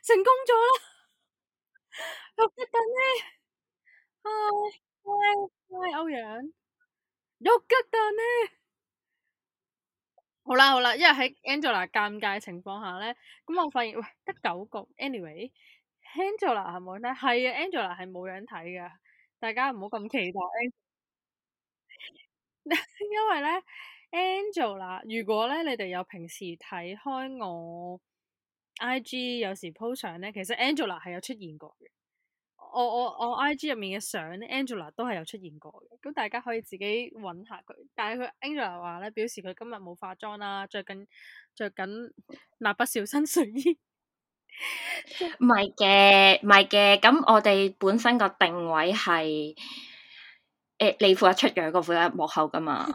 成功咗啦！好激動呢！喂，歐陽，好激動呢！好啦好啦，因為喺 Angela 尷尬情況下咧，咁我發現喂得9個，anyway，Angela 係冇人睇，係啊，Angela 係冇人睇噶，大家唔好咁期待，因為咧 Angela，如果咧你哋有平時睇開我 IG 有時 po 相咧，其實 Angela 係有出現過嘅。我 IG 入面嘅相咧，Angela 都係有出現過嘅，咁大家可以自己揾下佢。但係佢 Angela 話咧，表示佢今日冇化妝啦，着緊蠟筆小新睡衣。 唔係嘅，唔係嘅，咁我哋本身個定位係你負責出樣，個負責幕後噶嘛。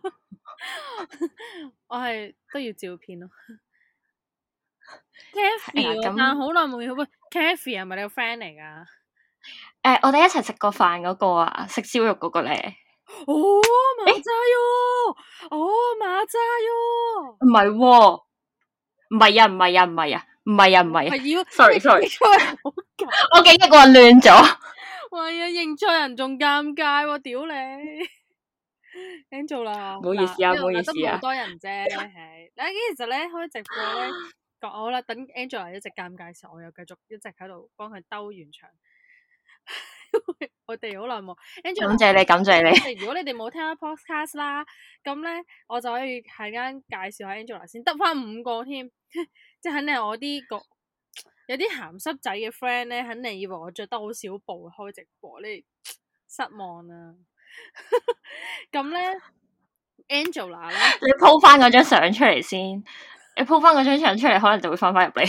我係都要照片咯。Kathy， 咁但好耐冇見。喂，Kathy 係咪你個 friend 嚟噶？ 我哋一齊食過飯嗰個啊，食燒肉嗰個咧。 哦，馬仔喲！哦，馬仔喲！ 唔係喎，唔係啊，唔係啊，唔係啊，唔係啊，唔係啊。 係要 sorry， 好我記憶混亂咗。 喂呀，認錯人仲尷尬喎！屌你！Angela， 唔好意思啊，唔好意思啊。 都冇多人啫，係。嗱，其實咧開直播咧，講好啦，等 Angela 一直尷尬嘅時候，我又繼續一直喺度幫佢兜完場。我哋好耐冇，Angela， 感謝你，感謝你。 如果你哋冇聽開 podcast 啦，咁咧我就可以喺間介紹下 Angela 先，得翻5個添，即係肯定係我啲個有啲鹹濕仔嘅 friend 咧，肯定以為我着得好少布開直播，你失望啦。咁咧 ，Angela 咧， 你 po 翻嗰張相出嚟先，你 po 翻嗰張相出嚟，可能就會翻入嚟。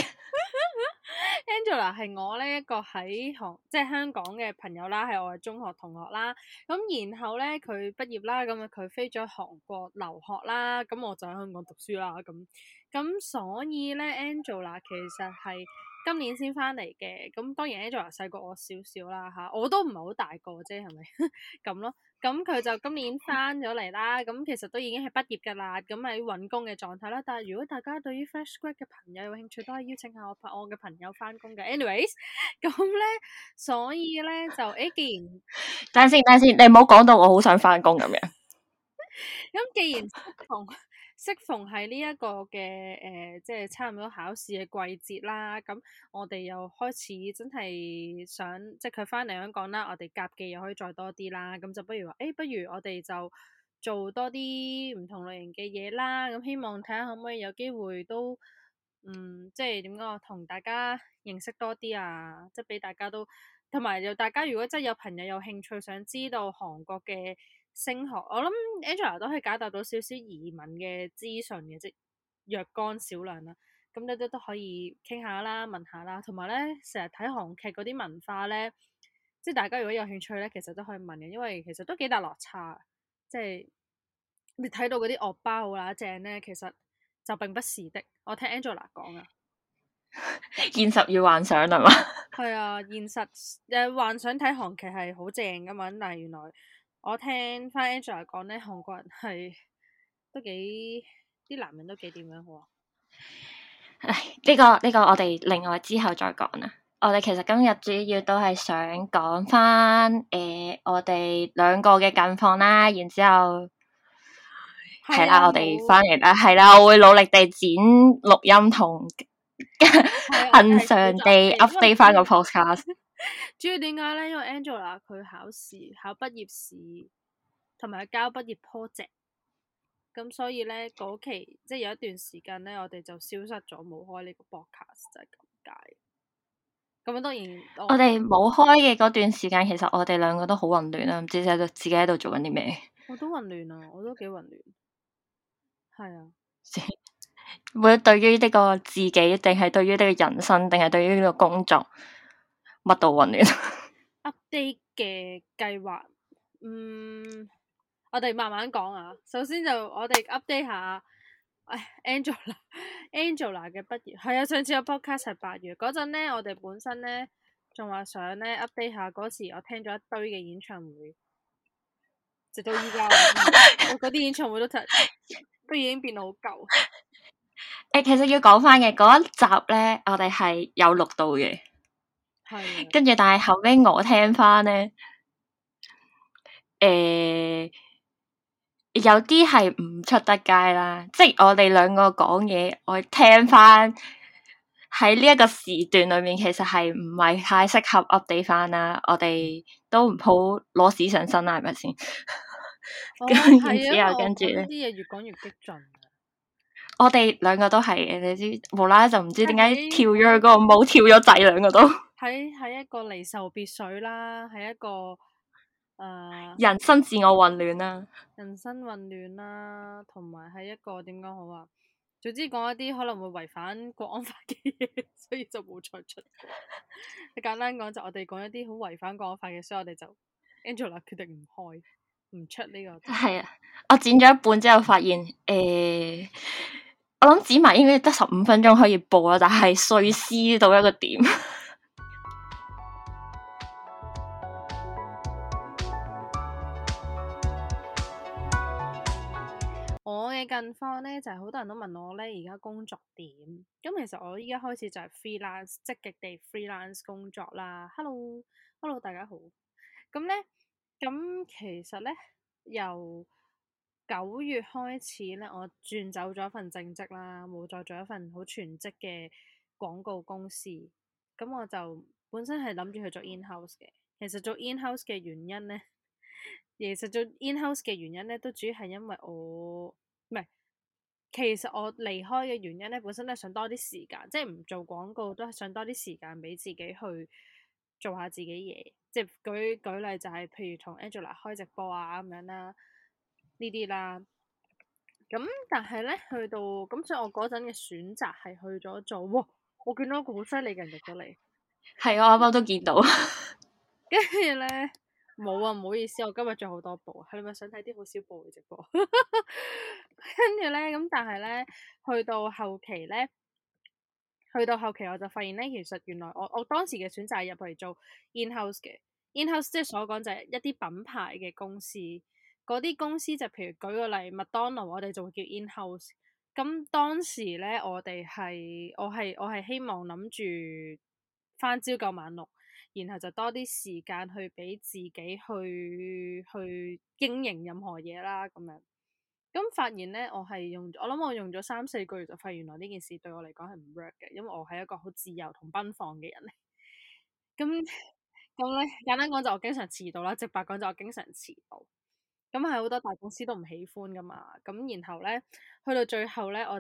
Angela 係我呢一個喺即係香港嘅朋友啦，係我嘅中學同學啦。咁然後咧佢畢業啦，咁佢飛咗韓國留學啦，咁我就喺香港讀書啦。咁所以咧 Angela 其實係今年先翻嚟嘅。咁當然 Angela 細過我少少啦吓，我都唔係好大個啫，係咪咁咯？咁佢就今年翻咗嚟啦，咁其實都已經係畢業噶啦，咁喺揾工嘅狀態啦。但係如果大家對於 fresh grad 嘅朋友有興趣，都可以邀請下我嘅朋友翻工嘅。anyways，咁咧，所以咧就既然等陣先，你唔好講到我好想翻工咁樣。 咁既然適逢係呢一個嘅即係差唔多考試嘅季節啦，咁我哋又開始真係想，即係佢翻嚟香港啦，我哋夾嘅又可以再多啲啦，咁就不如話，不如我哋就做多啲唔同類型嘅嘢啦，咁希望睇下可唔可以有機會都，即係點講，同大家認識多啲啊，即係俾大家都，同埋又大家如果真係有朋友有興趣想知道韓國嘅升學，我諗 Angela 都可以解答到少少移民嘅資訊嘅，即若干少量啦。咁你都可以傾下啦，問下啦。同埋咧，成日睇韓劇嗰啲文化咧，即係大家如果有興趣咧，其實都可以問嘅，因為其實都幾大落差。即係你睇到嗰啲惡霸好乸正咧，其實就並不是的。我聽 Angela 講啊， 現實與幻想係嘛？ 係啊，現實幻想睇韓劇係好正噶嘛，但係原來。我聽翻 Angela 講咧，韓國人係都幾啲男人都幾點樣好啊？ 唉，呢個我哋另外之後再講啦。我哋其實今日主要都係想講翻我哋兩個嘅近況啦，然之後係啦，我哋翻嚟啦，係啦，我會努力地剪錄音同恆常地 update 翻個 podcast。 主要點解咧？因為 Angela 佢考畢業試同埋交畢業 project，咁所以咧嗰期即係有一段時間咧，我哋就消失咗，冇開呢個 podcast 就係咁解。咁當然我哋冇開嘅嗰段時間，其實我哋兩個都好混亂啦，唔知自己喺度做緊啲咩。 我都混亂啊，我都幾混亂。係啊， 會對於呢個自己，定係對於呢個人生，定係對於呢個工作，乜都混亂。 update 嘅計劃，我哋慢慢講啊。首先就我哋 update 下，Angela 嘅畢業係啊。上次個 podcast 係8月嗰陣咧，我哋本身咧仲話想咧 update 下嗰時，我聽咗一堆嘅演唱會，直到依家我嗰啲演唱會都已經變到好舊。 其實要講翻嘅嗰一集咧，我哋係有錄到嘅， 係跟住但係後尾我聽翻咧，有啲係唔出得街啦，即係我哋兩個講嘢，我聽翻喺呢一個時段裏面，其實係唔係太適合 update 翻啦。我哋都唔好攞屎上身啦，係咪先？咁然之後跟住咧， 呢啲嘢越講越激進。 我哋兩個都係嘅，你知無啦啦就唔知點解喺跳咗去嗰個冇跳咗仔，兩個都喺一個離愁別緒啦，喺一個人生自我混亂啦。 人生混亂啦，同埋係一個點講好啊？總之講一啲可能會違反國安法嘅嘢，所以就冇再出過。你簡單講就我哋講一啲好違反國安法嘅，所以我哋就 Angela 決定唔開唔出呢個。 係啊，我剪咗一半之後發現，我諗剪埋應該得15分鐘可以播啦，但係碎屍到一個點。 我嘅近況咧就係、是、好多人都問我咧而家工作點，咁其實我依家開始就係 freelance 積極地 freelance 工作啦。Hello 大家好。咁咧，咁其實咧由9月開始咧，我轉走咗一份正職啦，冇再做一份好全職嘅廣告公司。咁我就本身係諗住去做 in-house 嘅。其實做 in-house 嘅原因咧。其實做 in-house 嘅原因咧，都主要係因為我唔係，其實我離開嘅原因咧，本身都係想多啲時間，即係唔做廣告，都係想多啲時間俾自己去做下自己嘢。即係舉例就係、是，譬如同 Angela 開直播啊咁樣啦，呢啲啦。咁但係咧，去到咁，所以我嗰陣嘅選擇係去咗做。哇！我見到一個好犀利嘅人入咗嚟， 係我啱啱都見到。 跟住咧。冇啊，唔好意思，我今日仲好多部，係咪想睇啲好少部嘅直播？跟住咧，咁但係咧，去到後期咧，我就發現咧，其實原來我當時嘅選擇係入嚟做 in-house 嘅 in-house，即係所講就係一啲品牌嘅公司，嗰啲公司就譬如舉個例，麥當勞，我哋就會叫 in-house。咁當時咧，我係希望諗住返朝九晚六。然後就多啲時間去俾自己去經營任何嘢啦，咁樣。咁發現咧，我諗我用咗3-4個月就發現原來呢件事對我嚟講係唔 work 嘅，因為我係一個好自由同奔放嘅人嚟。咁咧，簡單講就我經常遲到啦，直白講就我經常遲到。咁係好多大公司都唔喜歡噶嘛。咁然後咧，去到最後咧，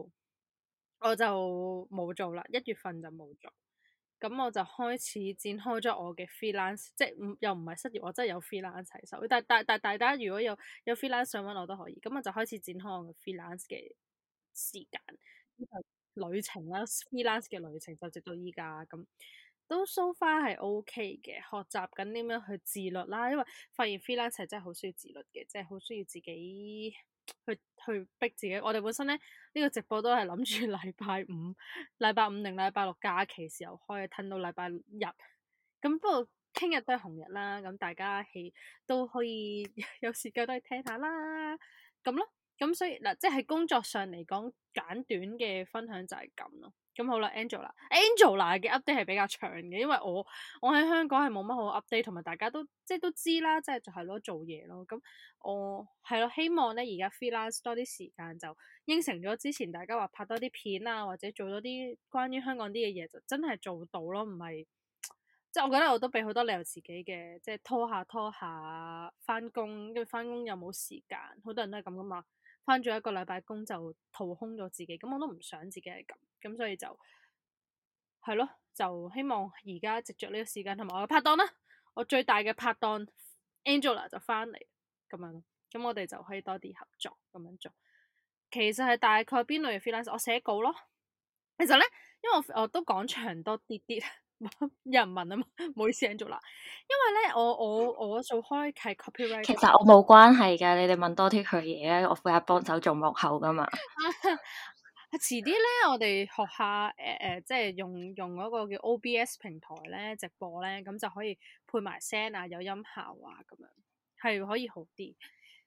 我就冇做啦，1月份就冇做。咁我就開始展開咗我嘅 freelance，即係又唔係失業，我真係有 freelance 喺手。但大家如果有 freelance 想揾我都可以。咁我就開始展開我嘅 freelance 嘅時間，旅程啦，freelance 嘅旅程就直到依家咁，都 so far 係 OK 嘅，學習緊點樣去自律啦。因為發現 freelance 係真係好需要自律嘅，即係好需要自己去逼自己。我哋本身咧呢個直播都係諗住禮拜五定禮拜六假期時候開，褪到禮拜日。咁不過聽日都係紅日啦，咁大家都可以有時間都去聽下啦，咁咯。咁所以嗱，即係工作上嚟講，簡短嘅分享就係咁咯。咁好啦，Angela 嘅 update 係比較長嘅，因為我喺香港係冇乜好 update，同埋大家都都知啦，即係就係咯做嘢咯。咁我係咯，希望咧而家 freelance 多啲時間，就應承咗之前大家話拍多啲片啊，或者做多啲關於香港啲嘅嘢，就真係做到咯，唔係即係我覺得我都俾好多理由自己嘅，即係拖下翻工，因為翻工又冇時間，好多人都係咁噶嘛。翻咗一個禮拜工就掏空咗自己，咁我都唔想自己係咁，咁所以就係咯，就希望而家藉着呢個時間同埋我嘅拍檔啦，我最大嘅拍檔 Angela 就翻嚟咁樣，咁我哋就可以多啲合作咁樣做。其實係大概邊類嘅 freelance？我寫稿咯。其實咧，因為我都講長多啲啲，有人問啊嘛，唔好意思 Angela。因為咧，我做開係 copyright。 其實我冇關係㗎，你哋問多啲佢嘢咧，我負責幫手做幕後㗎嘛。 遲啲咧，我哋學下即係用嗰個叫 OBS 平台咧直播咧，咁就可以配埋聲啊，有音效啊，咁樣係可以好啲。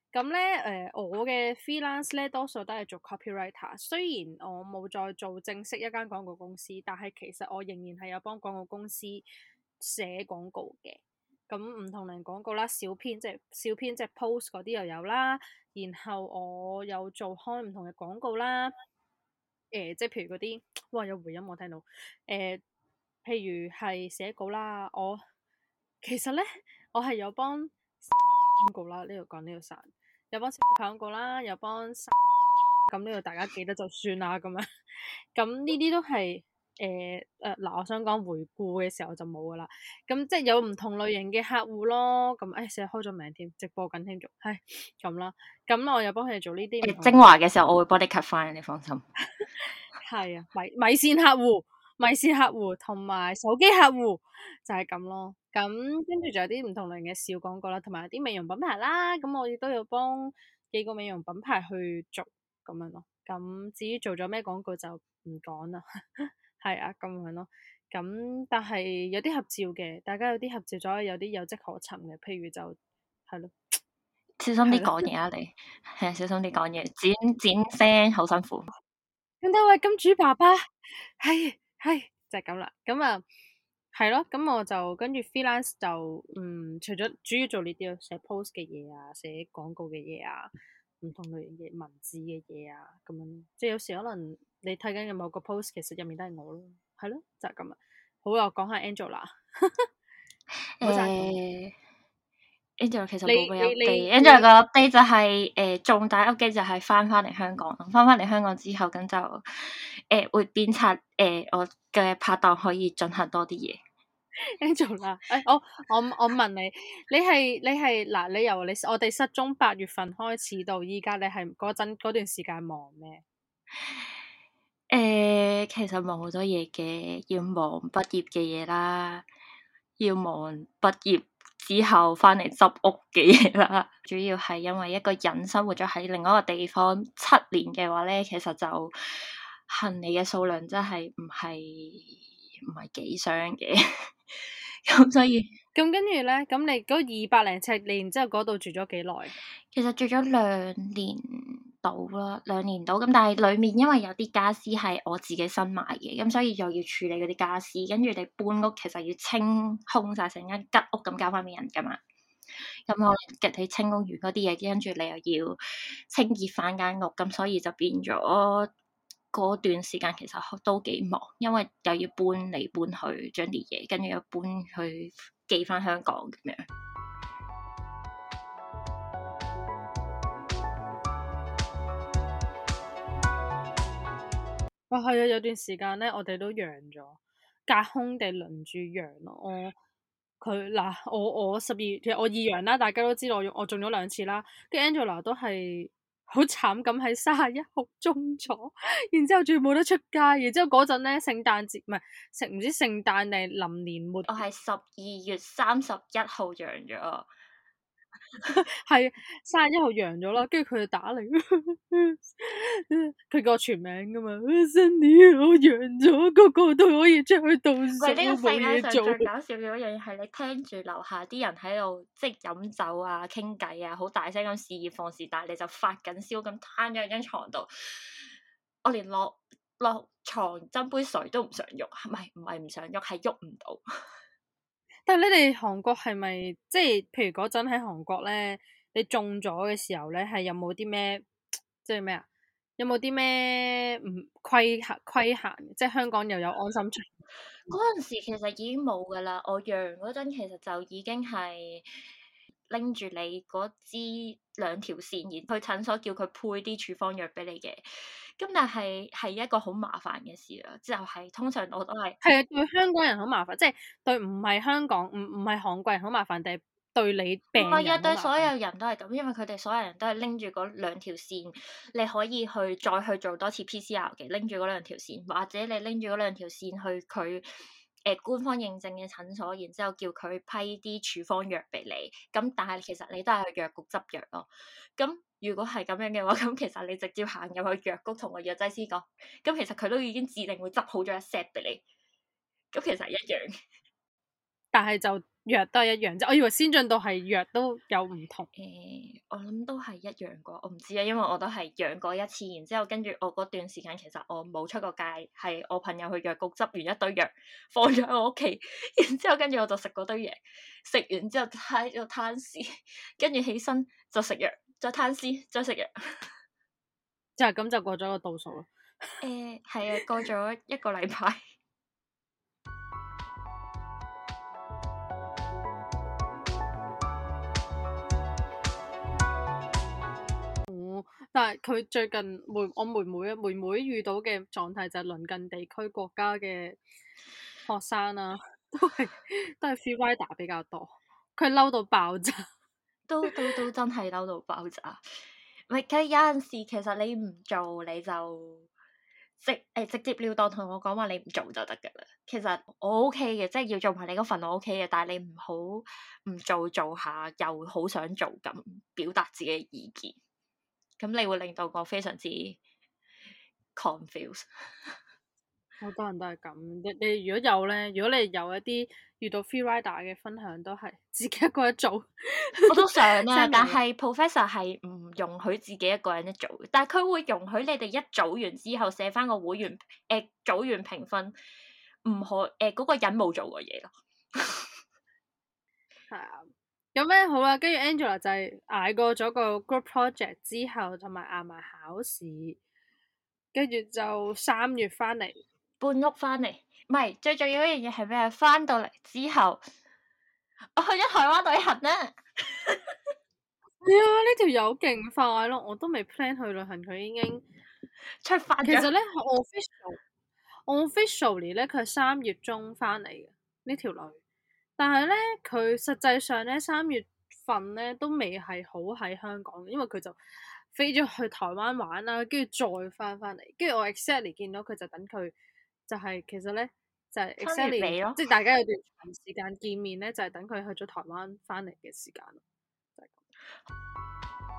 咁咧我嘅 freelance 咧多數都係做 copywriter，雖然我冇再做正式一間廣告公司，但係其實我仍然係有幫廣告公司寫廣告嘅。咁唔同類廣告啦，小編即係 post 嗰啲又有啦，然後我有做開唔同嘅廣告啦。即係譬如嗰啲，哇有回音我聽到。譬如係寫稿啦，其實咧我係有幫小廣告啦，呢度講呢度散，有幫小廣告啦，有幫咁呢度大家記得就算啦咁樣。咁呢啲都係嗱，我想講回顧嘅時候就冇噶啦。咁即係有唔同類型嘅客戶咯。咁成日開咗名添，直播緊添仲係咁啦。咁我又幫佢哋做呢啲唔同精華嘅時候，我會幫你 cut 翻，你放心。 係啊，米線客戶同埋手機客戶就係咁咯。咁跟住仲有啲唔同類型嘅小廣告啦，同埋有啲美容品牌啦。咁我亦都有幫幾個美容品牌去做咁樣咯。咁至於做咗咩廣告就唔講啦。係啊，咁樣咯。咁但係有啲合照嘅，大家有啲合照咗，有啲有跡可尋嘅。譬如就係咯， 小心啲講嘢啊！你係小心啲講嘢，剪聲好辛苦。 咁多位金主爸爸，係就係咁啦。咁啊係咯，咁我就跟住 freelance 就除咗主要做呢啲咯，寫 post 嘅嘢啊，寫廣告嘅嘢啊，唔同類型嘅文字嘅嘢啊，咁樣即係有時可能你睇緊嘅某個 post，其實入面都係我咯，係咯，就係咁啊。好啊，講下 Angela，唔好再講。 Angela 其實你冇咩 update。 你 Angela 個 update 就係重大 update 就係翻嚟香港，翻嚟香港之後咁就會鞭策我嘅拍檔可以進行多啲嘢。 Angela，我問你，你係嗱，你由我哋失蹤8月份開始到依家，你係嗰段時間忙咩？ 其實忙好多嘢嘅，要忙畢業嘅嘢啦，要忙畢業之後翻嚟執屋嘅嘢啦。主要係因為一個人生活咗喺另外一個地方7年嘅話咧，其實就行李嘅數量真係唔係幾箱嘅，咁所以咁跟住咧，咁你嗰200零尺，你然之後嗰度住咗幾耐？ 其實住咗2年到啦，2年到咁，但係裡面因為有啲家私係我自己新買嘅，咁所以又要處理嗰啲家私，跟住你搬屋其實要清空晒成間吉屋咁交翻俾人噶嘛，咁我你清空完嗰啲嘢，跟住你又要清潔翻間屋，咁所以就變咗嗰段時間其實都幾忙，因為又要搬嚟搬去將啲嘢，跟住又搬去寄翻香港咁樣。 哇，係啊，有段時間咧，我哋都陽咗，隔空地輪住陽咯。我12月，其實我二陽啦，大家都知道我中咗2次啦。跟住 Angela 都係好慘咁喺31號中咗，然之後仲要冇得出街，然之後嗰陣咧聖誕節唔係唔知聖誕定臨年末， 我係12月31號陽咗。 係31號陽咗啦，跟住佢就打嚟，佢叫我全名噶嘛，Sunny 我陽咗，個個都可以出去倒數， 喂，呢個世界上冇嘢做。 最搞笑嘅一樣嘢係你聽住樓下啲人喺度即係飲酒啊、傾偈啊，好大聲咁肆意放肆，但係你就發緊燒咁攤咗喺張床度，我連落床斟杯水都唔想喐，唔係唔想喐，係喐唔到。 但係你哋韓國係咪即係譬如嗰陣喺韓國咧，你中咗嘅時候咧，係有冇啲咩即係咩啊？有冇啲咩唔規限？即係香港又有安心出行。 嗰陣時其實已經冇噶啦，我陽嗰陣其實就已經係拎住你嗰支2條線，然去診所叫佢配啲處方藥俾你嘅。咁但係一個好麻煩嘅事啦，就係通常我都係係啊，對香港人好麻煩，即係對唔係香港唔係韓國人好麻煩，定係對你病人好麻煩？ 唔係啊，對所有人都係咁，因為佢哋所有人都係拎住嗰2條線，你可以再去做多次 PCR 嘅，拎住嗰2條線，或者你拎住嗰2條線去佢官方認證嘅診所，然之後叫佢批啲處方藥俾你。咁但係其實你都係去藥局執藥咯。咁如果係咁樣嘅話，咁其實你直接行入去藥局同個藥劑師講，咁其實佢都已經指定會執好咗一 set 俾你。咁其實一樣。 但係就藥都係一樣啫。我以為先進到係藥都有唔同。 我諗都係一樣啩，我唔知啊，因為我都係養過一次，然之後跟住我嗰段時間其實我冇出過街，係我朋友去藥局執完一堆藥放咗喺我屋企，然之後跟住我就食嗰堆嘢，食完之後喺度攤屍，跟住起身就食藥，再攤屍，再食藥。 就係咁就過咗個度數咯。 係啊，過咗一個禮拜。 但係佢最近我妹妹遇到嘅狀態就係鄰近地區國家嘅學生啦、都係 free rider 比較多，佢嬲到爆炸。 都真係嬲到爆炸。唔係，佢有陣時其實你唔做你就直接了當同我講話你唔做就得噶啦。其實我 OK 嘅，即係要做埋你嗰份我 OK 嘅，但係你唔好唔做下又好想做咁表達自己嘅意見，咁你會令到我非常之 confuse。 好多人都係咁，你如果有咧，如果你有一啲遇到 free rider 嘅分享，都係自己一個人做。 我都想啊， 真係但係 professor 係唔容許自己一個人一做，但係佢會容許你哋一組完之後寫翻個會員組員評分，唔可嗰個人冇做過嘢咯。 係啊，咁咧好啦，跟住 Angela 就係捱過咗個 group project 之後，同埋捱埋考試，跟住就3月翻嚟。 搬屋翻嚟，唔係最重要一樣嘢係咩？翻到嚟之後，我去咗台灣旅行啦。 係啊，呢條友勁快咯，我都未 plan 去旅行，佢已經出發咗。 其實咧，officially 咧，佢係3月中翻嚟嘅呢條女，但係咧佢實際上咧3月份咧都未係好喺香港，因為佢就飛咗去台灣玩啦，跟住再翻嚟，跟住我 exactly 見到佢就等佢就係、其實咧就係、 3月尾 exactly 咯， 即係大家有段長時間見面咧，就係、等佢去咗台灣翻嚟嘅時間咯，就係咁。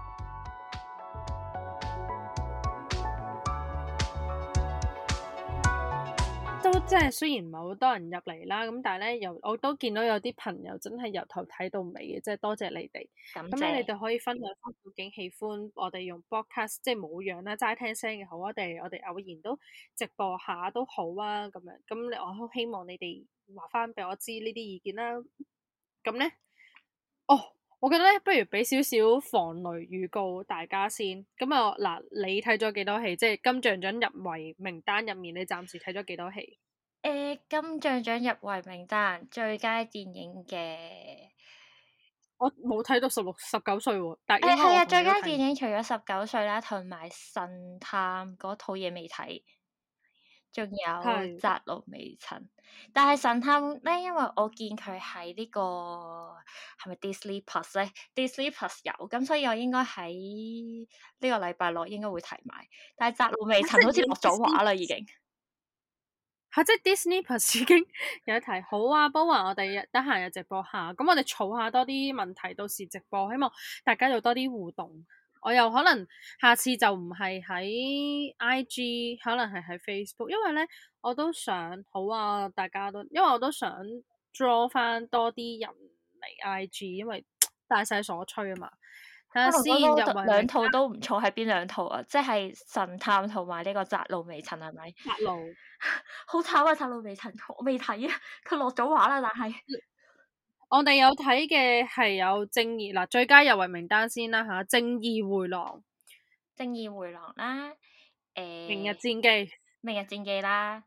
都即係雖然唔係好多人入嚟啦，咁但係咧我都見到有啲朋友真係由頭睇到尾嘅，即係多謝你哋。咁咧你哋可以分享翻究竟喜歡我哋用 podcast 即係冇樣啦，齋聽聲嘅好啊，定係我哋偶然都直播下都好啊咁樣。咁我好希望你哋話翻俾我知呢啲意見啦。咁咧，我覺得咧，不如俾少少防雷預告大家先。咁啊，嗱，你睇咗幾多戲？即係金像獎入圍名單入面，你暫時睇咗幾多戲？ 金像獎入圍名單最佳電影嘅， 我冇睇到16、19歲喎，但係應該係啊， 我同最佳你都睇。 電影除咗19歲啦，同埋神探嗰套嘢未睇。仲有係窄路微塵，但係神探咧，因為我見佢喺呢個係咪 Disney Plus 咧？Disney Plus 有，咁所以我應該喺呢個禮拜內應該會睇埋。但係窄路微塵好似落咗畫啦，已經。 嚇！即係 Disney Plus 已經有得睇，好啊！不過我哋得閒有直播下，咁我哋儲下多啲問題，到時直播，希望大家有多啲互動。我又可能下次就唔係喺 IG，可能係喺 Facebook，因為咧我都想好啊，大家都，因為我都想 draw 翻多啲人嚟 IG，因為大勢所趨啊嘛。睇下先入圍兩套都唔錯，係邊兩套啊？即係神探同埋呢個窄路微塵係咪？ 窄路好慘啊！窄路微塵我未睇啊，佢落咗畫啦，但係我哋有睇嘅係有正義嗱，最佳入圍名單先啦吓，正義迴廊、 正義迴廊啦， 明日戰記、 明日戰記啦，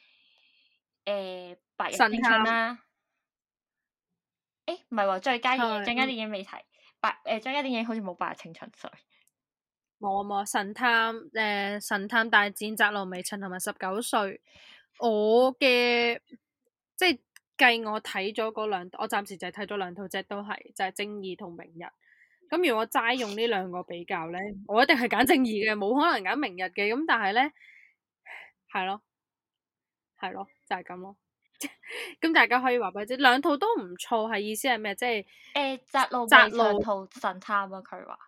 白日神青春探啦。唔係喎，最佳係電影未睇，最佳電影好似冇白日青春，sorry。 冇啊冇神探大戰窄路微塵同埋19歲，我嘅即係計我睇咗嗰兩，我暫時就係睇咗兩套啫，都係就係正義同明日。咁如果齋用呢兩個比較咧，我一定係揀正義嘅，冇可能揀明日嘅。咁但係咧，係咯，係咯，就係咁咯。咁大家可以話俾我知，兩套都唔錯，係意思係咩？即係窄路微窄路塵同神探啊，佢話。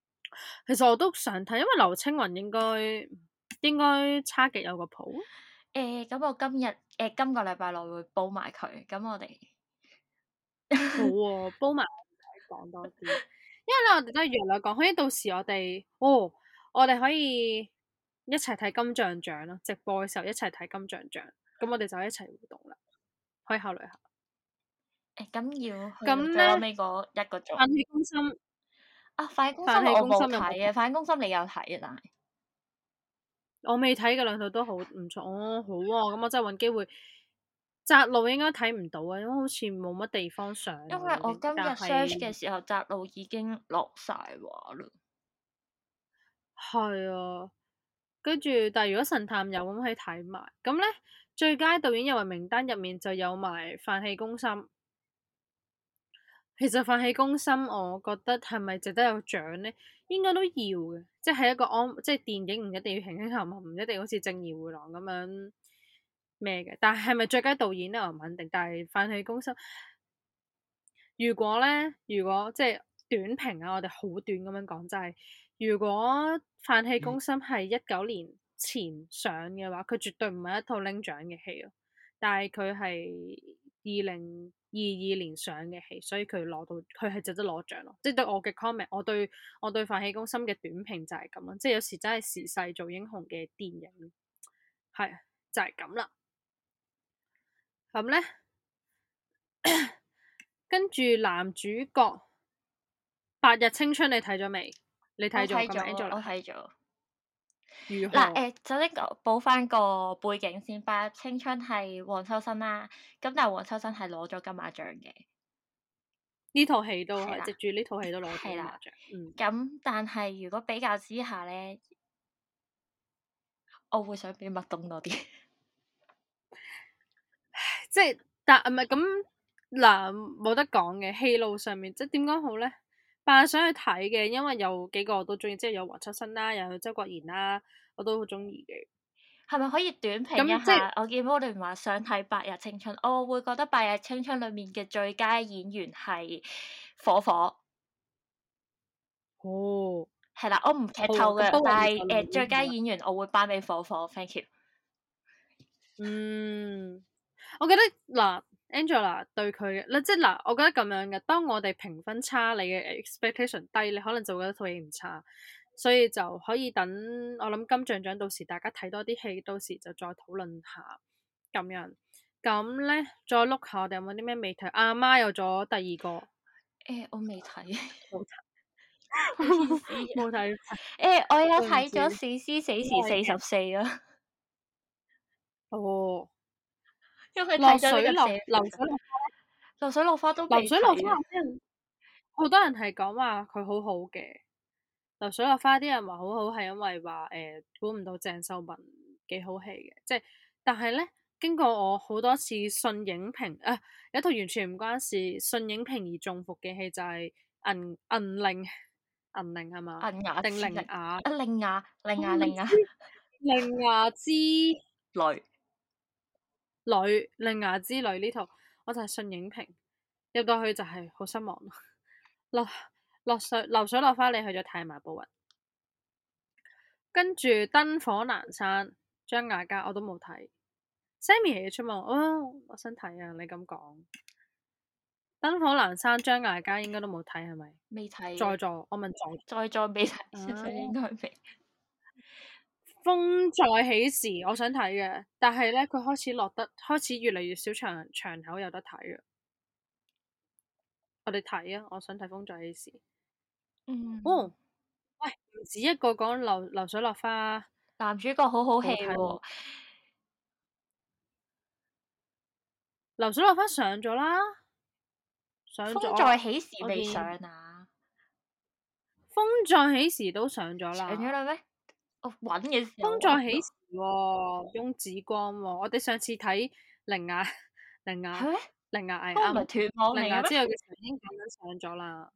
其實我都想睇，因為劉青雲應該差極有個譜。 咁我今個禮拜內會煲埋佢，咁我哋好喎、煲埋講多啲，因為咧我哋都係約略講，可以到時我哋可以一齊睇金像獎咯，直播嘅時候一齊睇金像獎，咁我哋就一齊互動啦，可以考慮下。 咁要去咁到最後咧， 尾嗰一個鐘飯氣攻心， 啊！飯氣攻心飯氣我冇攻心有冇睇？ 睇嘅，飯氣攻心你有睇啊？但係我未睇嘅兩套都好唔錯，好喎、咁我真係揾機會。窄路應該睇唔到啊，因為好似冇乜地方上因啦已經， 為我今日但 search 嘅係時候，窄路已經落晒畫啦。 係啊，跟住但係如果神探有咁可以睇埋，咁咧最佳導演入圍名單入面就有埋飯氣攻心。其實飯氣攻心，我覺得係咪值得有獎咧？應該都要嘅，即係一個即係電影唔一定要輕輕含含，唔一定好似正義迴廊咁樣咩嘅。但係係咪最佳導演咧？我唔肯定。但係飯氣攻心，如果即係短評啊，我哋好短咁樣講，就係如果飯氣攻心係19年前上嘅話，佢絕對唔係一套拎獎嘅戲咯。但係佢係2022年上嘅戲，所以佢係值得攞獎咯。即係對我嘅 comment，我對飯氣攻心嘅短評就係咁咯。即係有時真係時勢做英雄嘅電影，係就係咁啦。咁咧，跟住男主角白日青春，你睇咗未？你睇咗咁樣我 Angela 睇咗。 如嗱， 何？ 首先補翻個背景先，白日青春係黃秋生啦，咁但係黃秋生係攞咗金馬獎嘅， 呢套戲都係係啦， 藉住呢套戲都攞咗係啦。 金馬獎。嗯， 咁但係如果比較之下咧，我會想俾麥冬多啲。 即係但唔係咁嗱，冇得講嘅戲路上面，即係點講好咧？扮想去睇嘅，因為有幾個我都中意，即係有黃秋生啦，又有周國賢啦，我都好中意嘅。 係咪可以短評咁即係一下？我見摩聯話想睇《白日青春》，我會覺得《白日青春》裡面嘅最佳演員係火火， 哦， 係啦，我唔劇好啊， 透嘅， 咁不過但係我留意最佳下啦。 演員我會頒俾火火，thank you。 嗯，我覺得嗱，Angela 對佢嘅嗱，即係嗱，我覺得咁樣嘅。當我哋評分差，你嘅 expectation 低，你可能就會覺得套戲唔差，所以就可以等我諗金像獎到時大家睇多啲戲，到時就再討論下咁樣。咁咧，再碌下我哋有冇啲咩未睇？阿媽有咗第二個， 我未睇， 冇睇， 好意思啊。 冇睇， 我有對唔睇咗住， 《史詩死都係嘅。 時44》啊， 哦， 因為睇落水落咗呢個社流水落流水落花都未流水落花， 睇啊。 好多人係講話佢好好嘅。流水落花啲人話好好，係因為話估唔到鄭秀文幾好戲嘅，即係但係咧經過我好多次信影評啊，有一套完全唔關事信影評而中伏嘅戲就係銀鈴係嘛？ 銀牙定之力鈴雅？ 鈴芽鈴雅之女。 旅，鈴雅之旅呢套我就係信影評入到去就係好失望咯。流水落花，你去咗睇埋步雲。跟住燈火闌珊，張艾嘉我都冇睇，Sammy 嚟嘅出嘛？哦，我想睇啊！你咁講，燈火闌珊，張艾嘉應該都冇睇係咪？ 未睇在座，我問在座再未睇， 啊， 應該未。 風再起時，我想睇嘅，但係咧佢開始越嚟越少場口有得睇啊！我哋睇啊，我想睇風再起時。 嗯， 哦，喂，唔止一個講流水落花， 男主角好好戲好睇喎。 喎。 流水落花上咗啦，上風再咗， 起時未我見上啊？ 風再起時都上咗上咗啦。 啦咩？我揾嘅時候風再起時喎，翁子光喎，我哋上次睇鈴芽鈴芽係咩？ 鈴芽係嗰個唔係啱， 斷網嚟鈴芽嘅咩？ 之後嘅時候已經咁樣上咗啦。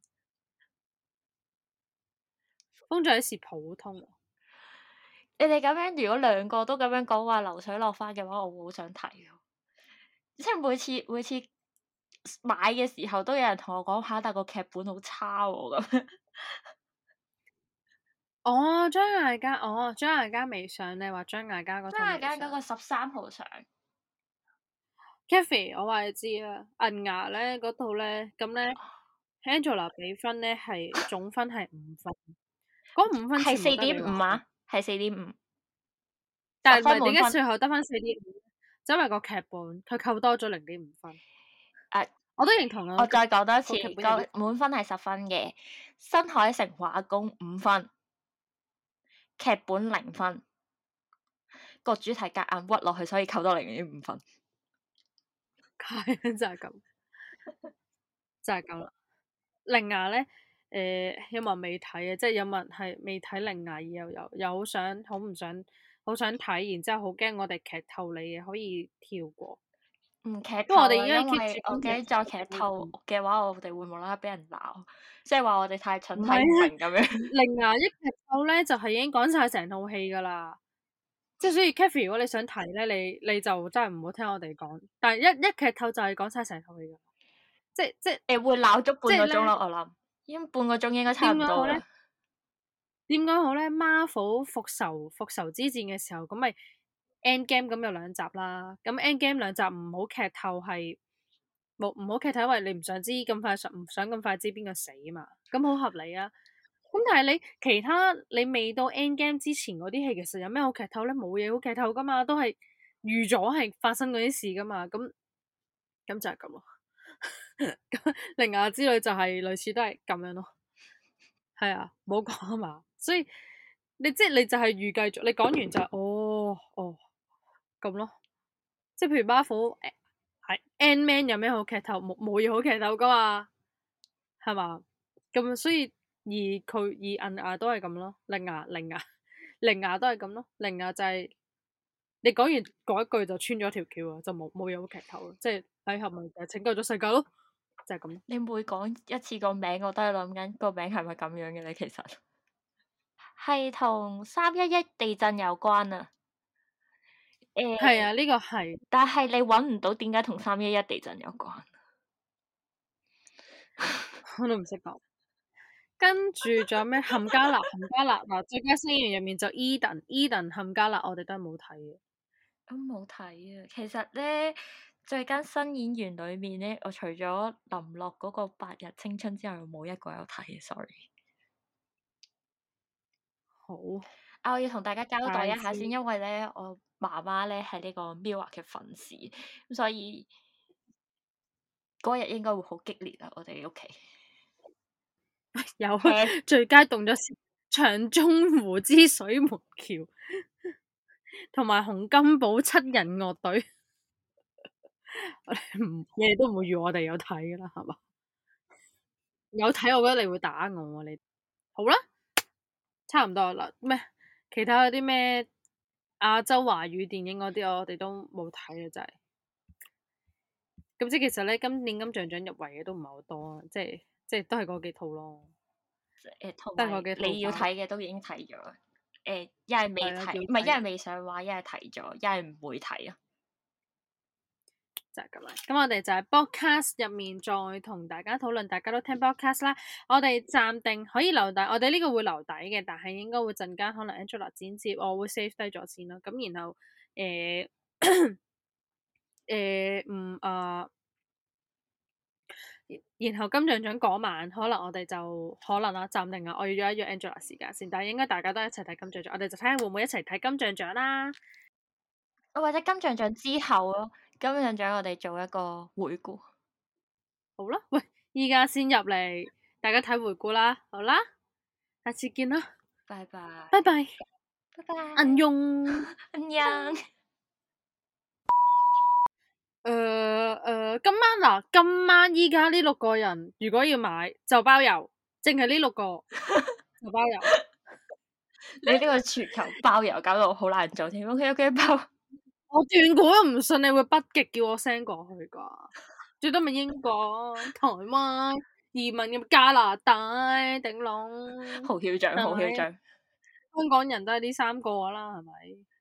風再起時普通喎， 你哋咁樣，如果兩個都咁樣講話流水落花嘅話，我會好想睇喎。即係每次買嘅時候，都有人同我講下，但個劇本好差喎咁。 哦，張艾嘉，哦，張艾嘉未上，你話張艾嘉嗰套張艾未上嘉嗰個13號上， ？Kathy，我話你知啊，銀牙咧嗰套咧，咁咧 Angela 俾分咧係總分係5分，嗰5分係四全部得你話嘅， 點五啊，係4.5，十但係唔係點分滿分。 解最後得翻4.5？就因為個劇本佢扣多咗0.5分， 誒、 我都認同啊， 我再講多次， 個劇本有啲個滿分係10分嘅，新海誠畫工5分，劇本0分，個主題夾硬屈落去，所以扣多0.5分。 係就係咁，就係咁啦。鈴芽咧，有冇人未睇啊？即係有冇人係未睇鈴芽，而又好想好唔想好想睇，然之後好驚我哋劇透你嘅，可以跳過。 唔劇因為我哋透啊，因而家 keep 住為我驚今日再劇透嘅話，我哋會無啦啦俾人鬧，即係話我哋太蠢唔係睇唔啊， 明咁樣。 鈴芽一劇透咧就係已經講晒成套戲噶啦。即係所以 Kathy 如果你想睇咧，你就真係唔好聽我哋講。但係一劇透就係講晒成套戲噶，即會鬧足半係咧個鐘咯，我諗，因為半個鐘應該差點講好咧？ 唔多啦。 點講好咧？Marvel 復仇之戰嘅時候，咁咪 Endgame 咁有2集啦。咁 Endgame 2集唔好劇透係冇唔好劇透，因為你唔想知咁快唔想咁快知邊個死嘛。咁好合理啊。咁但係你其他你未到 Endgame 之前嗰啲戲，其實有咩好劇透咧？冇嘢好劇透噶嘛，都係預咗係發生嗰啲事噶嘛。咁就係咁咯。咁鈴芽之旅就係類似都係咁樣咯。係啊，冇講啊嘛，所以你就係預計咗，你講完就係哦咁咯，即係譬如 Marvel 係 Ant-Man 有咩好劇透？冇嘢好劇透噶嘛，係嘛？咁所以而銀牙都係咁咯，鈴芽都係咁咯，鈴芽就係你講完嗰一句就穿咗條橋啊，就冇嘢好劇透咯，即係喺後咪就拯救咗世界咯，就係咁咯。 你每講一次個名，我都係諗緊個名係咪咁樣嘅咧？其實係同311地震有關啊。 係啊，呢個係但係你揾唔到點解同311地震有關。 我都唔識講。跟住仲有咩冚家辣？冚家辣嗱，最佳新演員入面就 Eden 冚家辣，我哋都係冇睇嘅。 咁冇睇啊！其實咧，最佳新演員裏面咧，我除咗林樂嗰個《白日青春》之外，冇一個有睇，sorry。 好， 我要同大家交代一下大先，因為咧，我媽媽咧係呢個 Mirror 嘅粉絲，咁所以嗰日應該會好激烈啊！我哋屋企有聽最佳動作片長津湖之水門橋，同埋洪金寶7人樂隊，你哋都唔會預我哋有睇噶啦，係嘛？有睇，我覺得你會打我啊！你好啦，差唔多啦。咩？其他嗰啲咩亞洲華語電影嗰啲，我哋都冇睇啊！真係。咁即係其實咧，今年金像獎入圍嘅都唔係好多啊，即係都係嗰幾套咯， 同都係埋嗰幾套吧。 你要睇嘅都已經睇咗，一係未係啊，要睇，唔係一係睇未上畫，一係睇咗，一係唔會睇啊。 就係咁啦。咁我哋就係 podcast 入面再同大家討論，大家都聽 podcast 啦。我哋暫定可以留底，我哋呢個會留底嘅，但係應該會陣間可能 Angela 剪接，我會 save 低咗先啦。咁然後然後金像獎嗰晚，可能我哋就可能啦，暫定啊，我要約一約 Angela 時間先，但係應該大家都一齊睇金像獎，我哋就睇下會唔會一齊睇金像獎啦。 或者金像獎之後咯，金像獎我哋做一個回顧。 好啦，喂，依家先入嚟，大家睇回顧啦，好啦，下次見啦， 拜拜， 拜拜， 拜拜， 안녕。 安樣。 今晚依家呢6個人，如果要買就包郵，淨係呢6個就包郵。 你呢個全球包郵搞到好難做添，OK OK 包。 我斷估都唔信你會北極叫我 send 過去噶，最多咪英國、台灣、移民入加拿大，頂籠。 好囂張，好囂張。 香港人都係呢3個啦，係咪？